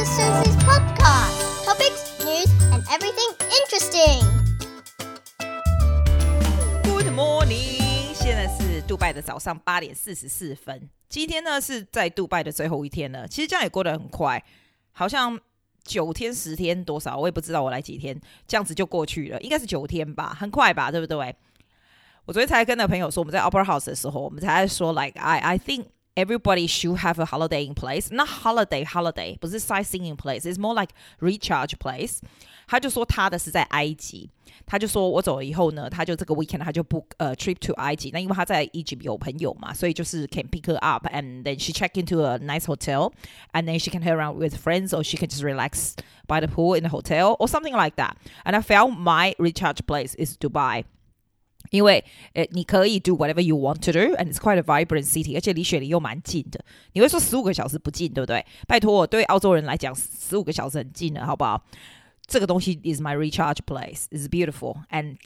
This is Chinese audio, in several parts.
Sister Susie's podcast. Topics, news, and everything interesting. Good morning， 现在是杜拜的早上8點44分。今天呢是在杜拜的最後一天了，其實這樣也過得很快，好像9天10天多少，我也不知道我來幾天，這樣子就過去了，應該是9天吧，很快吧，對不對？我昨天才跟那朋友說，我們在 Opera House 的時候，我們才說 like I think everybody should have a holiday in place. Not holiday, 不是 sightseeing in place. It's more like recharge place. 他就說他的是在埃及，他就說我走了以後呢，他就這個 weekend 他就 book trip to 埃及。那因為他在 Egypt 有朋友嘛，所以就是 can pick her up and then she check into a nice hotel and then she can hang around with friends or she can just relax by the pool in the hotel or something like that. And I felt my recharge place is Dubai.因為你可以 do whatever you want to do and it's quite a vibrant city 而且離雪梨又蠻近的你會說15個小時不近對不對拜託對澳洲人來講15個小時很近了好不好這個東西 is my recharge place it's beautiful and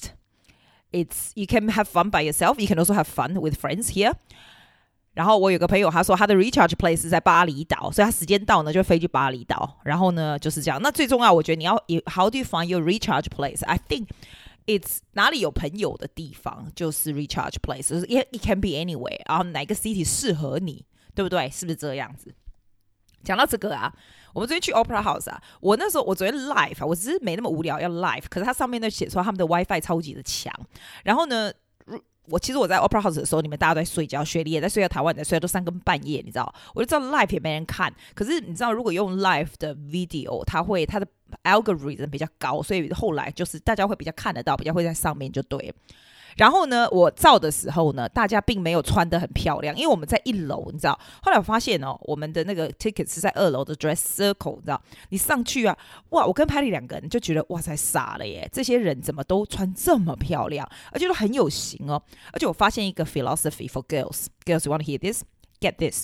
it's you can have fun by yourself you can also have fun with friends here 然後我有個朋友他說他的 recharge place 是在巴厘島所以他時間到呢就飛去巴厘島然後呢就是這樣那最重要我覺得你要 how do you find your recharge place I think It's 哪裡有朋友的地方就是 recharge place it can be anywhere 然後哪個 city 適合你對不對是不是這樣子講到這個啊我們昨天去 Opera House 啊我那時候我昨天 live 我只是沒那麼無聊要 live 可是它上面呢寫說他們的 WiFi 超級的強然後呢其實我在 Opera House 的時候你們大家都在睡覺雪梨也在睡覺台灣也在睡覺都3更半夜你知道我就知道 live 也沒人看可是你知道如果用 live 的 video 它的 algorithm 比較高所以後來就是大家會比較看得到比較會在上面就對了然後呢我照的時候呢大家並沒有穿得很漂亮因為我們在1樓你知道後來我發現我們的那個 ticket 是在2樓的 dress circle 你知道你上去啊哇我跟 Patty 2個人就覺得哇塞傻了耶這些人怎麼都穿這麼漂亮而且都很有型而且我發現一個 philosophy for girls you want to hear this? Get this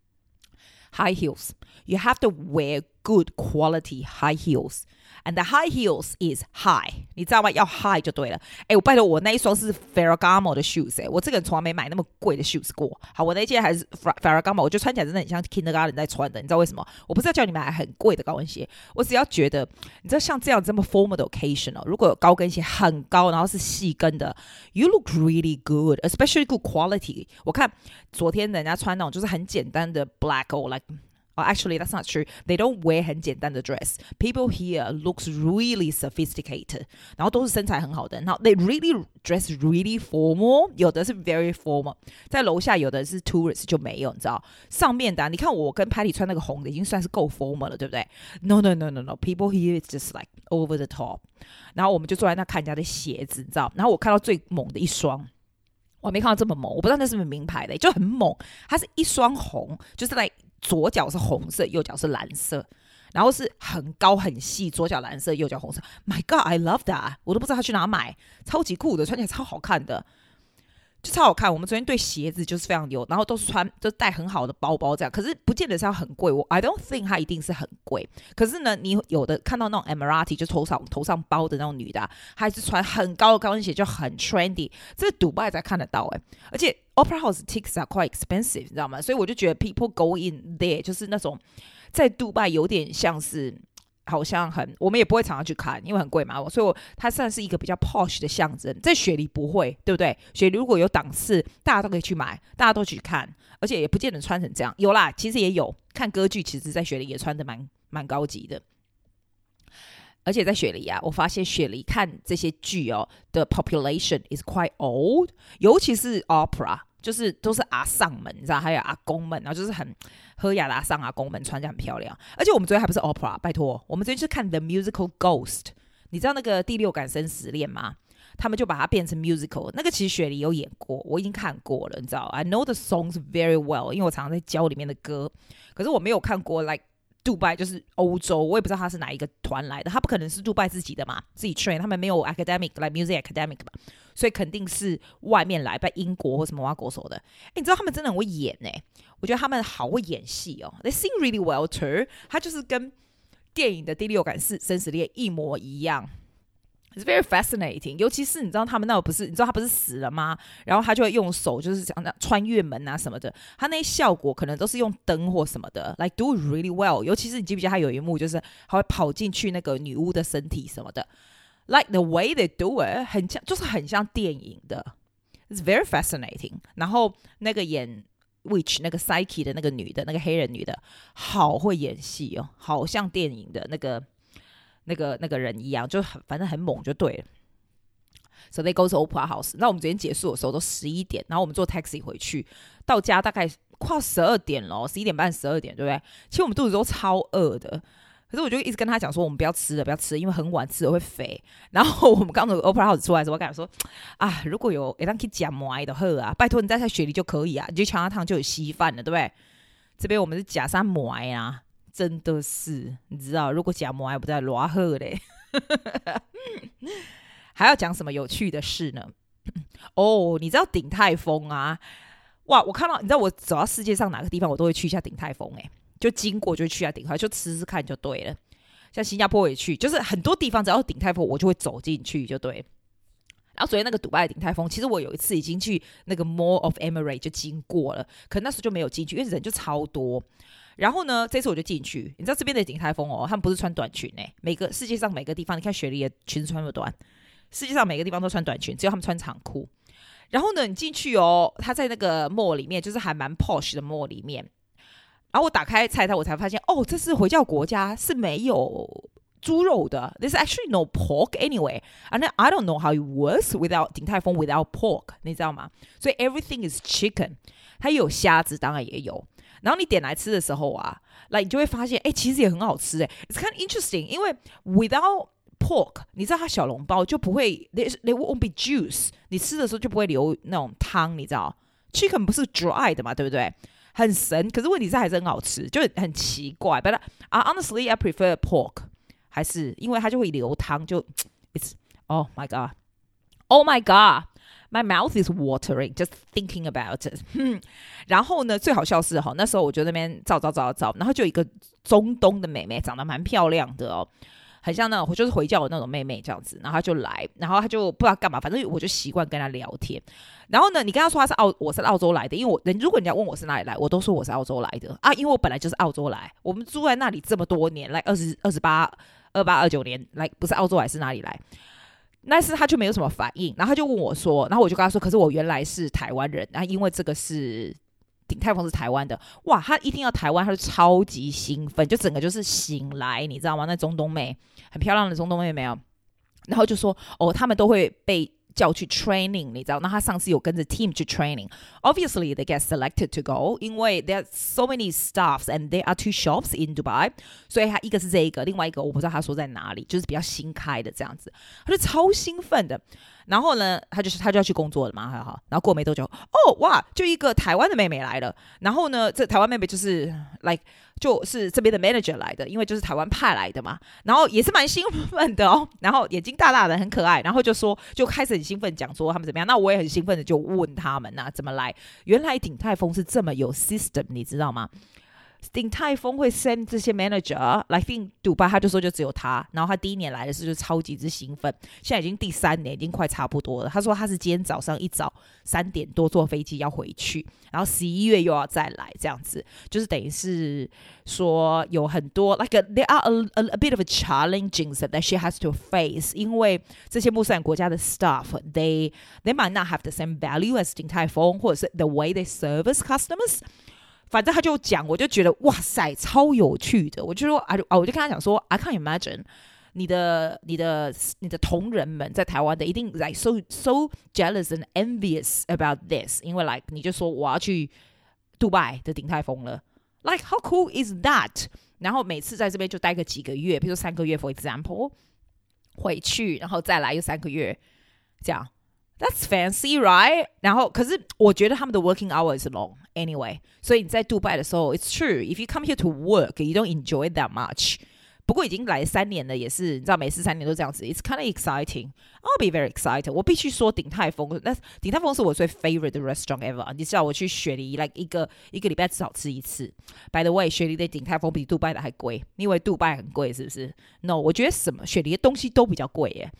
high heels you have to wear good quality high heels and the high heels is high 你知道嗎要 high 就對了我拜託我那一雙是 Ferragamo 的 shoes 我這個人從來沒買那麼貴的 shoes 過好我那一件還是 Ferragamo 我覺得穿起來真的很像 kindergarten 在穿的你知道為什麼我不是要叫你買很貴的高跟鞋我只要覺得你知道像這樣這麼 formal 的 occasion 如果有高跟鞋很高然後是細跟的 you look really good especially good quality 我看昨天人家穿那種就是很簡單的 black or like actually, that's not true. They don't wear 很簡單的 dress. People here looks really sophisticated. 然後都是身材很好的。然後 they really dress really formal. 有的是 very formal. 在樓下有的是 tourist 就沒有，你知道。上面的你看我跟 Patty 穿那個紅的已經算是夠 formal 了，對不對 ？No. People here is just like over the top. 然後我們就坐在那看人家的鞋子，你知道。然後我看到最猛的一雙。我沒看到這麼猛，我不知道那是不是名牌的，就很猛。它是一雙紅，就是在左腳是紅色，右腳是藍色，然後是很高很細，左腳藍色，右腳紅色。My God, I love that！ 我都不知道他去哪買，超級酷的，穿起來超好看的，就超好看。我們昨天對鞋子就是非常牛，然後都是就帶很好的包包這樣，可是不見得是要很貴。I don't think 它一定是很貴，可是呢，你有的看到那種 Emirati 就頭上包的那種女的，還是穿很高的高跟鞋就很 trendy， 這是 Dubai 才看得到而且 Opera House tickets are quite expensive 你知道嗎？所以我就覺得 people go in there 就是那種在 Dubai 有點像是好像我們也不會常常去看因為很貴嘛所以它算是一個比較 posh 的象徵在雪梨不會對不對雪梨如果有檔次大家都可以去買大家都去看而且也不見得穿成這樣有啦其實也有看歌劇其實在雪梨也穿得蠻高級的而且在雪梨啊我發現雪梨看這些劇的 population is quite old 尤其是 opera就是都是阿桑們你知道還有阿公們然後就是很喝雅的阿桑阿公們穿着很漂亮而且我們昨天還不是 opera 拜託我们昨天去看 The Musical Ghost 你知道那個第6感生死戀嗎他們就把它變成 musical 那個其實雪梨有演過我已經看過了你知道 I know the songs very well 因為我常常在教裡面的歌可是我沒有看過 like杜拜就是歐洲我也不知道他是哪一個團來的他不可能是杜拜自己的嘛自己 train 他們沒有 academic like music academic 嘛所以肯定是外面來在英國或什麼挖國手的你知道他們真的很會演我覺得他們好會演戲they sing really well too 他就是跟電影的第6感生死戀一模一樣 It's very fascinating， 尤其是你知道他们那不是，你知道他不是死了嗎？然後他就會用手就是這樣穿越門啊什麼的，他那些效果可能都是用燈或什麼的 ，like do it really well。尤其是你記不記得他有一幕就是他會跑進去那個女巫的身體什麼的 ，like the way they do it， 很像就是很像電影的 ，it's very fascinating。然後那個演 witch 那個 Psyche 的那個女的，那個黑人女的，好會演戲哦，好像電影的那個人一樣，就反正很猛就對了。So they go to Opera House。那我們昨天結束的時候都11點，然後我們坐 taxi 回去，到家大概快12點了，11點半12點，對不對？其實我們肚子都超餓的，可是我就一直跟他講說，我們不要吃了，不要吃了，因為很晚吃了會肥。然後我們剛從 Opera House 出來的時候，我跟他說啊，如果有讓可以夾饃的喝啊，拜託你在雪梨就可以啊，你去強華湯就有稀飯了，對不對？這邊我們是夾上饃啊。真的是，你知道，如果講饃還不在羅赫嘞，還要講什麼有趣的事呢？哦，你知道鼎泰豐啊？哇，我看到，你知道我走到世界上哪個地方，我都會去一下鼎泰豐，就經過就去一下鼎泰，就吃吃看就對了。像新加坡也去，就是很多地方只要有鼎泰豐，我就會走進去就對了。然後昨天那個杜拜的鼎泰豐，其實我有一次已經去那個 Mall of Emirates 就經過了，可那時候就沒有進去，因為人就超多。然後呢，這次我就進去，你知道這邊的鼎泰豐哦，他們不是穿短裙世界上每個地方，你看雪梨的裙子穿那麼短，世界上每個地方都穿短裙，只有他們穿長褲。然後呢，你進去哦，他在那個 mall 裡面，就是還蠻 posh 的 mall 裡面。然後我打開菜單，我才發現哦，這是回教國家是沒有豬肉的。There's actually no pork anyway. And I don't know how it works without 鼎泰豐 without pork， 你知道嗎？所以 everything is chicken。它也有蝦子，當然也有。然後你點來吃的時候啊，你就會發現，其實也很好吃It's kind of interesting， 因為 without pork， 你知道它小籠包就不會 they won't be juice， 你吃的時候就不會流那種湯，你知道 ？Chicken 不是 dry 的嘛，對不對？很神，可是問題是還是很好吃，就很奇怪。But honestly, I prefer pork， 還是因為它就會流湯，就 it's oh my god，oh my god。My mouth is watering just thinking about it 然後呢，最好笑是那時候我就在那邊照，然後就有一個中東的妹妹，長得蠻漂亮的哦，很像那種就是回教的那種妹妹這樣子。然後她就來，然後她就不知道幹嘛，反正我就習慣跟她聊天。然後呢，你跟她說我是澳洲來的，因為如果人家問我是哪裡來，我都說我是澳洲來的啊，因為我本來就是澳洲來，我們住在那裡這麼多年，來28、29年，來不是澳洲來是哪裡來？但是他就沒有什麼反應，然後他就問我說，然後我就跟他說，可是我原來是台灣人，然後因為這個是鼎泰豐是台灣的，哇，他一聽到台灣，他就超級興奮，就整個就是醒來，你知道嗎？那中東妹很漂亮的中東妹沒有，然後就說哦，他們都會被叫去 training， 你知道？那他上次有跟着 team 去 training。Obviously, they get selected to go， 因為 there are so many staffs and there are 2 shops in Dubai， 所以他一個是這一個，另外一個我不知道他說在哪裡，就是比較新開的這樣子，他就超興奮的。然後呢，他就要去工作了嘛，然後過沒多久，哦哇，就一個台灣的妹妹來了。然後呢，這台灣妹妹就是就是這邊的 manager 來的，因為就是台灣派來的嘛。然後也是蠻興奮的哦，然後眼睛大大的，很可愛。然後就開始很興奮講說他們怎麼樣。那我也很興奮的就問他們怎麼來。原來鼎泰豐是這麼有 system， 你知道嗎？鼎泰豐會 send 這些 manager 來 think 杜拜，他就說就只有他，然後他第一年來的時候就超級之興奮，現在已經第3年，已經快差不多了。他說他是今天早上一早3點多坐飛機要回去，然後11月又要再來，這樣子就是等於是說有很多 there are a bit of a challenging that she has to face， 因為這些穆斯林國家的 staff they might not have the same value as 鼎泰豐，或者是 the way they service customers。反正他就講，我就覺得哇塞，超有趣的。我就說我就跟他講說 I can't imagine 你的同仁們在台灣的一定 like so jealous and envious about this， 因為 你就說我要去杜拜的鼎泰豐了 ，like how cool is that？ 然後每次在這邊就待個幾個月，比如說3個月 for example， 回去然後再來又3個月，這樣。That's fancy, right? 然後，可是我覺得他們的 working hours is long anyway. 所以你在杜拜的時候 ，it's true. If you come here to work, you don't enjoy that much. 不過已經來3年了，也是你知道，每次3年都這樣子。It's kind of exciting. I'll be very excited. 我必須說鼎泰豐，那鼎泰豐是我最 favorite 的 restaurant ever. 你知道我去雪梨 like 一個禮拜至少吃1次。By the way, 雪梨的鼎泰豐比杜拜的還貴。你以為杜拜很貴是不是 ？No， 我覺得雪梨的東西都比較貴耶。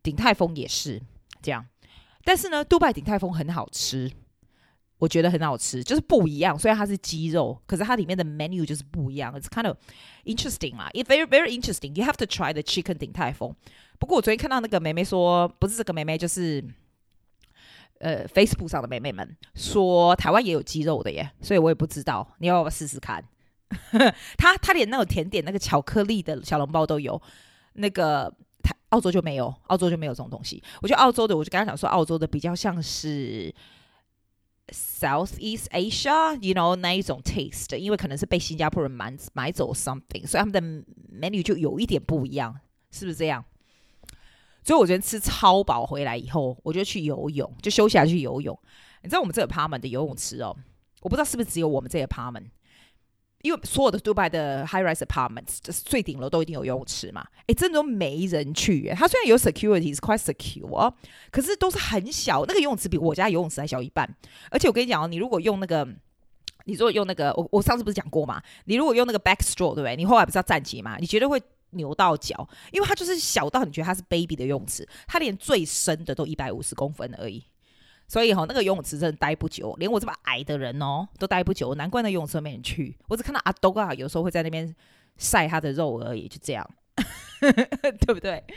鼎泰豐也是這樣。但是呢，杜拜鼎泰豐很好吃，我覺得很好吃，就是不一樣。雖然它是雞肉，可是它裡面的 menu 就是不一樣。It's kind of interesting 啦， It's very very interesting. You have to try the chicken 鼎泰豐。不過我昨天看到那個妹妹說，不是這個妹妹，就是Facebook 上的妹妹們說台灣也有雞肉的耶，所以我也不知道，你要不要試試看？他連那種甜點那個巧克力的小籠包都有，那個澳洲就沒有，澳洲就沒有這種東西。我覺得澳洲的，我就跟他講說，澳洲的比較像是 Southeast Asia you know 那一種 taste， 因為可能是被新加坡人買走 something， 所以他們的 menu 就有一點不一樣，是不是這樣？所以我昨天吃超飽回來以後，我就去游泳，就休息下去游泳。你知道我們這個 apartment 的游泳池哦，我不知道是不是只有我們這個 apartment，因為所有的杜拜的 high rise apartments 就是最頂樓都一定有游泳池嘛，真的都沒人去耶。它雖然有 security 是 quite secure， 可是都是很小，那個游泳池比我家游泳池還小一半。而且我跟你講哦，你如果用那個，我上次不是講過嘛，你如果用那個 backstroke 對不對？你後來不是要站起嘛，你絕對會扭到腳，因為它就是小到你覺得它是 baby 的游泳池，它連最深的都150公分而已。所以那個游泳池真的待不久，連我這麼矮的人都待不久，難怪那游泳池沒人去。我只看到阿東啊，有時候會在那邊曬他的肉而已，就這樣，對不對？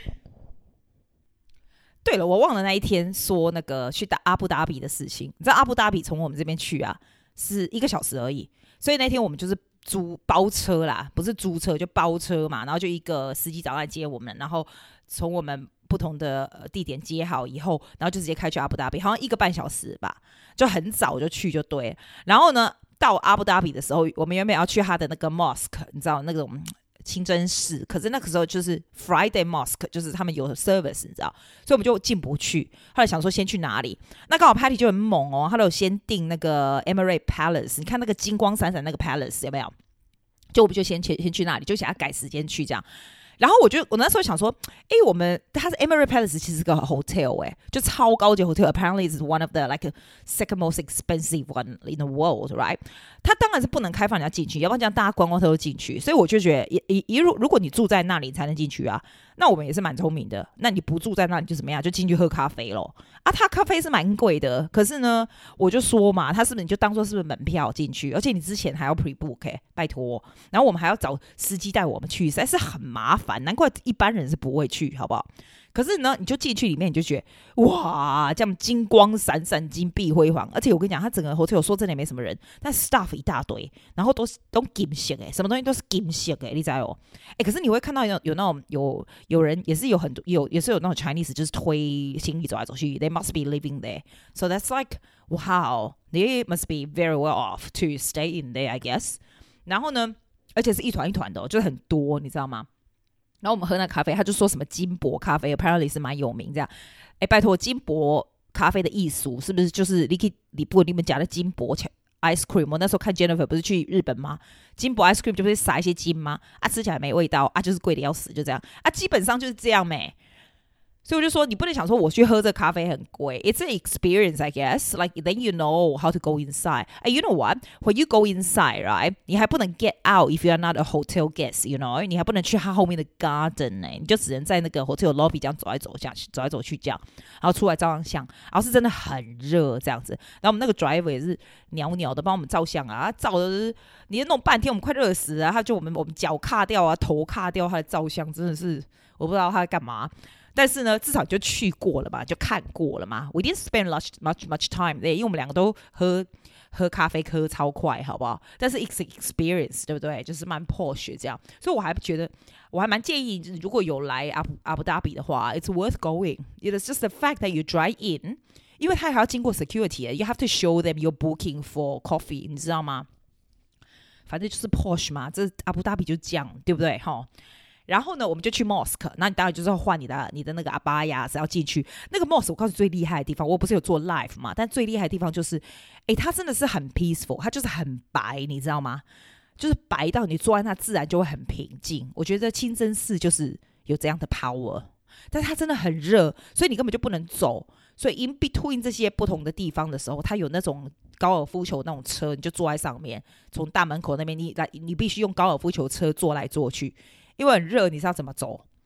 對了，我忘了那一天說那個去阿布達比的事情。你知道阿布達比從我們這邊去啊是1個小時而已，所以那天我們就是包車啦，不是租車就包車嘛，然後就一個司機早上來接我們，然後從我們不同的地點接好以後，然後就直接開去阿布達比，好像1個半小時吧，就很早就去就对了。然後呢，到阿布達比的時候，我們原本要去他的那個 mosque， 你知道那種清真寺，可是那個時候就是 Friday mosque， 就是他們有 service， 你知道，所以我們就進不去。後來想說先去哪裡，那剛好 Patty 就很猛哦，他有先訂那個 Emirate Palace， 你看那個金光閃閃那個 Palace 有沒有？就我們就先去那裡，就想要改時間去這樣。然後我那時候想說，它是 Emirate Palace， 其實是個 hotel， 就超高級 hotel。Apparently it's one of the like second most expensive one in the world, right？ 它當然是不能開放人家進去，要不然這樣大家觀光客都進去。所以我就覺得，如果你住在那裡才能進去啊，那我們也是蠻聰明的。那你不住在那裡就怎麼樣？就進去喝咖啡咯。啊，它咖啡是蠻貴的，可是呢，我就說嘛，它是不是你就當做是不是門票進去？而且你之前還要 pre-book，拜託。然後我們還要找司機帶我們去，實在是很麻煩。難怪一般人是不會去，好不好？可是呢，你就進去裡面，你就覺得哇，這樣金光閃閃、金碧輝煌。而且我跟你講，它整個 hotel 說真的也沒什麼人，但 staff 一大堆，然後都金色的，什麼東西都是金色的，你知道哦？可是你會看到有那種有人也是有很多也是有那種 Chinese 就是推行李走來走去 ，they must be living there. So that's like wow, they must be very well off to stay in there, I guess. 然後呢，而且是一团一团的，就是很多，你知道嗎？然後我們喝那咖啡，他就說什麼金箔咖啡 apparently 是蠻有名這樣。拜託，金箔咖啡的藝術是不是就是你們家的金箔 ice cream？ 我那時候看 Jennifer 不是去日本嗎？金箔 ice cream 就不是撒一些金嗎？吃起來沒味道就是貴的要死，就這樣基本上就是這樣咩。所以我就說，你不能想說我去喝這咖啡很貴 ，It's an experience, I guess. Like then you know how to go inside. And you know what? When you go inside, right? 你還不能 get out if you are not a hotel guest, you know? 你還不能去他後面的 garden 你就只能在那個 hotel lobby 這樣走來走去這樣，然後出來照張相。然後是真的很熱這樣子。然後我們那個 driver 也是鳥鳥的幫我們照相啊，照的你弄半天，我們快熱死了。他就我們腳卡掉啊，頭卡掉，他的照相真的是我不知道他在幹嘛。但是呢，至少就去過了嘛，就看過了嘛。We didn't spend much time there，因為我們兩個都喝咖啡喝超快，好不好？但是 it's experience， 對不對？就是蠻 posh 這樣，所以我還覺得我還蠻建議，如果有來阿布達比的話 ，it's worth going. It's just the fact that you drive in， 因為他還要經過 security，you have to show them your booking for coffee， 你知道嗎？反正就是 posh 嘛，這阿布達比就這樣，對不对？哈。然後呢，我們就去 mosque， 那你當然就是要換你的那個阿巴亞是要進去那個 mosque。我告訴你最厲害的地方，我不是有做 live 嘛，但最厲害的地方就是，它真的是很 peaceful， 它就是很白，你知道嗎？就是白到你坐在那自然就會很平靜。我覺得清真寺就是有這樣的 power， 但是它真的很熱，所以你根本就不能走。所以 in between 這些不同的地方的時候，它有那種高爾夫球那種車，你就坐在上面，從大門口那邊你必須用高爾夫球車坐來坐去。因為很熱，你知道怎麼走？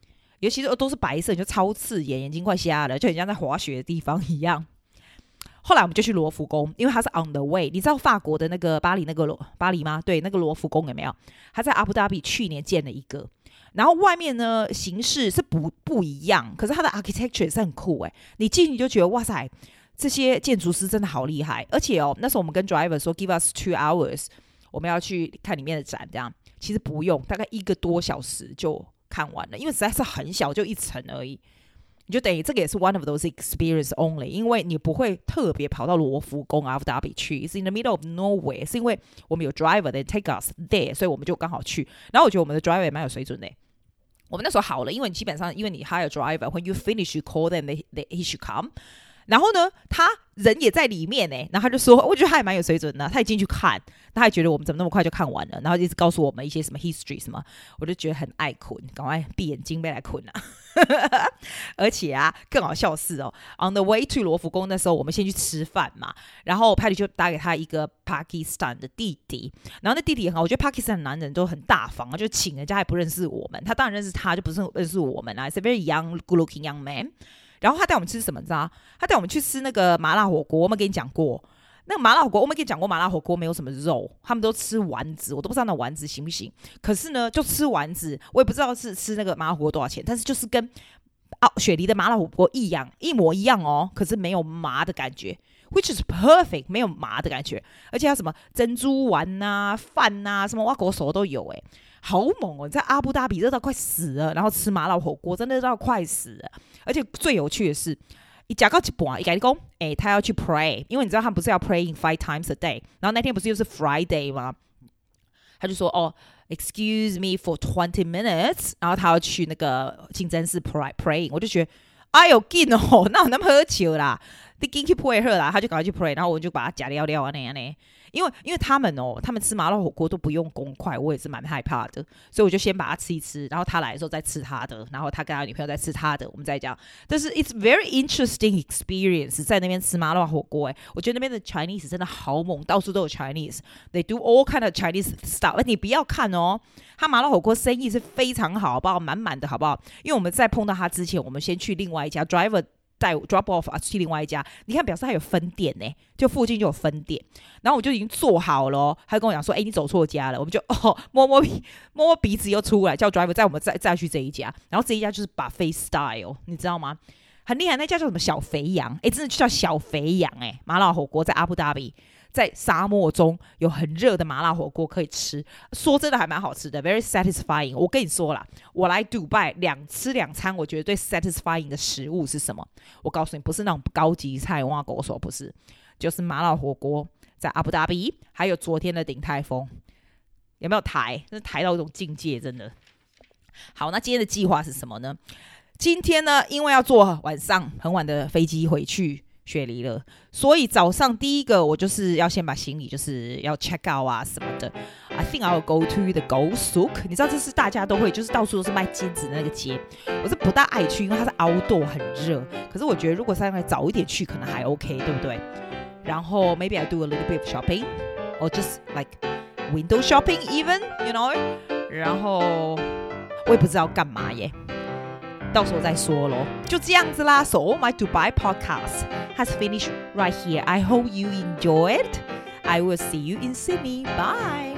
尤其是都是白色，你就超刺眼，眼睛快瞎了，就很像在滑雪的地方一樣。後來我們就去羅浮宮，因為它是 on the way。你知道法國的那個巴黎嗎？對，那個羅浮宮有沒有？它在阿布達比去年建了一個，然後外面呢形式是不一樣，可是它的 architecture 也是很酷哎。你進去就覺得哇塞，這些建築師真的好厲害。而且那時候我們跟 driver 說 give us 2 hours， 我們要去看裡面的展，這樣其實不用，大概1個多小時就看完了，因為實在是很小，就1層而已。你就等於這個也是 one of those experience only， 因為你不會特別跑到羅浮宮阿布達比去，是 in the middle of nowhere， 是因為我們有 driver that take us there， 所以我們就剛好去。然後我覺得我們的 driver 也蠻有水準的。我們那時候好了，因為你基本上因為你 hire driver，when you finish you call them he should come。然後呢，他人也在裡面呢，然後他就說，我覺得他也蠻有水準的，他也進去看，他還覺得我們怎麼那麼快就看完了，然後一直告訴我們一些什麼 history 什麼，我就覺得很愛睏，趕快閉眼睛被來睏啊。而且啊，更好笑的是哦 ，on the way to 羅浮宮那時候，我們先去吃飯嘛，然後 Patty 就打給他一個巴基斯坦的弟弟，然後那弟弟很好，我覺得巴基斯坦男人都很大方啊，就請人家還不認識我們，他當然認識他，就不是認識我們啊 ，It's a very young, good-looking young man。然後他帶我們吃什麼？你知道？他帶我們去吃那個麻辣火鍋。我們跟你講過，那個麻辣火鍋，我們跟你講過，麻辣火鍋沒有什麼肉，他們都吃丸子，我都不知道那丸子行不行。可是呢，就吃丸子，我也不知道是吃那個麻辣火鍋多少錢，但是就是跟雪梨的麻辣火鍋一模一樣哦。可是沒有麻的感覺 ，which is perfect， 沒有麻的感覺，而且還有什麼珍珠丸啊、飯啊，什麼挖狗手都有哎。好猛哦！你在阿布達比熱到快死了，然後吃麻辣火鍋真的熱到快死了。而且最有趣的是，一講到一半，一跟你講，他要去 pray， 因為你知道他們不是要 praying 5 times a day， 然後那天不是又是 Friday 嗎？他就說excuse me for 20 minutes， 然後他要去那個清真寺 praying， 我就覺得哎呦緊哦，那有那麼喝酒啦，你進去 pray 啦，他就趕快去 pray， 然後我就把他夾了啊那。因為他們吃麻辣火鍋都不用公筷，我也是蠻害怕的，所以我就先把它吃一吃，然後他來的時候再吃他的，然後他跟他女朋友再吃他的，我們再講。但是 it's very interesting experience 在那邊吃麻辣火鍋，我覺得那邊的 Chinese 真的好猛，到處都有 Chinese，they do all kind of Chinese stuff。你不要看哦，他麻辣火鍋生意是非常好，好不好？滿滿的好不好？因為我們在碰到他之前，我們先去另外一家 driver。帶 drop off 去另外一家，你看表示他有分店呢，就附近就有分店，然後我就已經做好了，他跟我講說，你走錯家了，我們就摸摸鼻子又出來，叫 driver 載我們再去這一家，然後這一家就是 buffet style， 你知道嗎？很厲害，那家叫什麼小肥羊，真的就叫小肥羊麻辣火鍋在阿布達比。在沙漠中有很熱的麻辣火鍋可以吃，說真的還蠻好吃的 ，very satisfying。我跟你說啦，我來杜拜吃2餐，我覺得最 satisfying 的食物是什麼？我告訴你，不是那種高級菜，挖狗手不是，就是麻辣火鍋在阿布達比，還有昨天的鼎泰豐，有沒有台？真是台到一種境界，真的。好，那今天的計劃是什麼呢？今天呢，因為要坐晚上很晚的飛機回去雪梨了，所以早上第一個我就是要先把行李就是要 check out 啊什麼的。I think I will go to the Gold Souk， 你知道這是大家都會，就是到處都是賣金子的那個街。我是不大愛去，因為它是 outdoor 很熱。可是我覺得如果稍微早一點去，可能還 OK， 對不對？然後 maybe I do a little bit of shopping or just like window shopping even, you know。然後我也不知道幹嘛耶。到時候再說咯，就這樣子啦。So my Dubai podcast has finished right here. I hope you enjoyed. I will see you in Sydney. Bye.